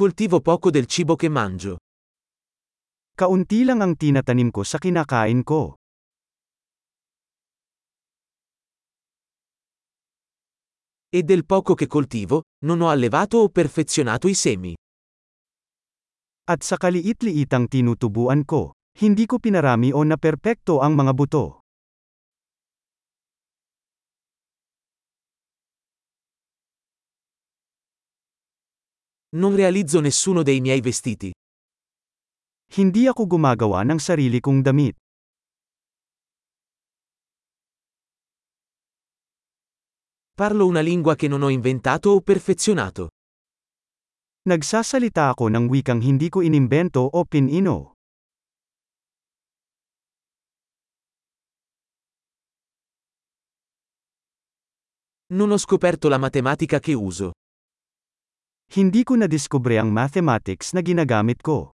Coltivo poco del cibo che mangio. Kaunti lang ang tinatanim ko sa kinakain ko. E del poco che coltivo, non ho allevato o perfezionato i semi. At sa kaliit-liitang tinutubuan ko, hindi ko pinarami o naperpekto ang mga buto. Non realizzo nessuno dei miei vestiti. Hindi ako gumagawa ng sarili kong damit. Parlo una lingua che non ho inventato o perfezionato. Nagsasalita ako ng wikang hindi ko inimbento o pinino. Non ho scoperto la matematica che uso. Hindi ko nadiskubre ang mathematics na ginagamit ko.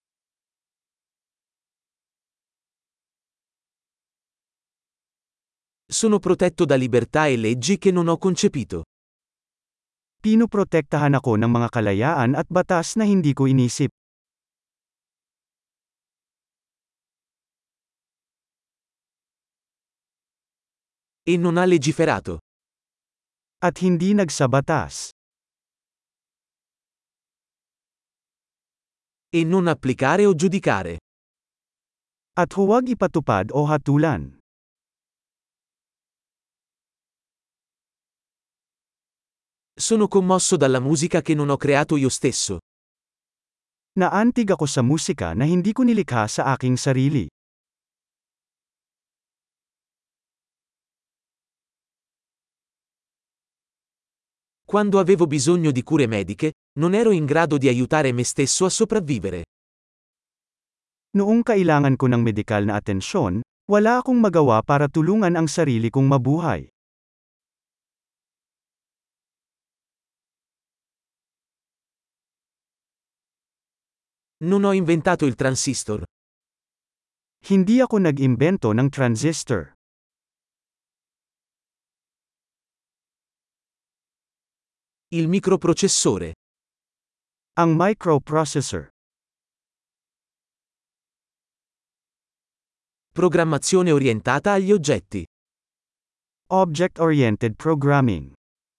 Sono protetto da libertà e leggi che non ho concepito. Pinoprotektahan ako ng mga kalayaan at batas na hindi ko inisip. E non ha legiferato. At hindi nagsabatas. E non applicare o giudicare. At huwag ipatupad o hatulan. Sono commosso dalla musica che non ho creato io stesso. Naantig ako sa musika na hindi ko nilikha sa aking sarili. Quando avevo bisogno di cure mediche, non ero in grado di aiutare me stesso a sopravvivere. Noong kailangan ko ng medikal na atensyon, wala akong magawa para tulungan ang sarili kong mabuhay. Non ho inventato il transistor. Hindi ako nag-imbento ng transistor. Il microprocessore. Ang microprocessor. Programmazione orientata agli oggetti. Object-oriented programming.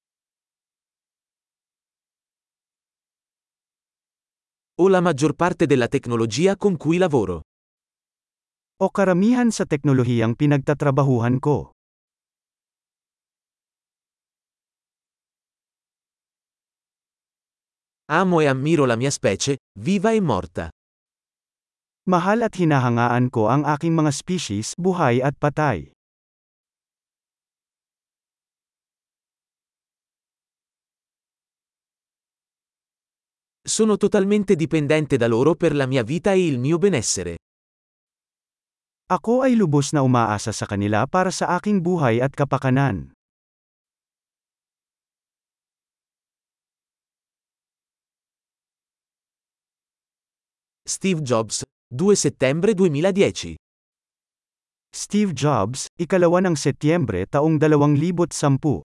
O la maggior parte della tecnologia con cui lavoro. O karamihan sa teknolohiyang pinagtatrabahuhan ko. Amo e ammiro la mia specie, viva e morta. Mahal at hinahangaan ko ang aking mga species, buhay at patay. Sono totalmente dipendente da loro per la mia vita e il mio benessere. Ako ay lubos na umaasa sa kanila para sa aking buhay at kapakanan. Steve Jobs, 2 settembre 2010. Steve Jobs, 2 ng Setyembre taong 2010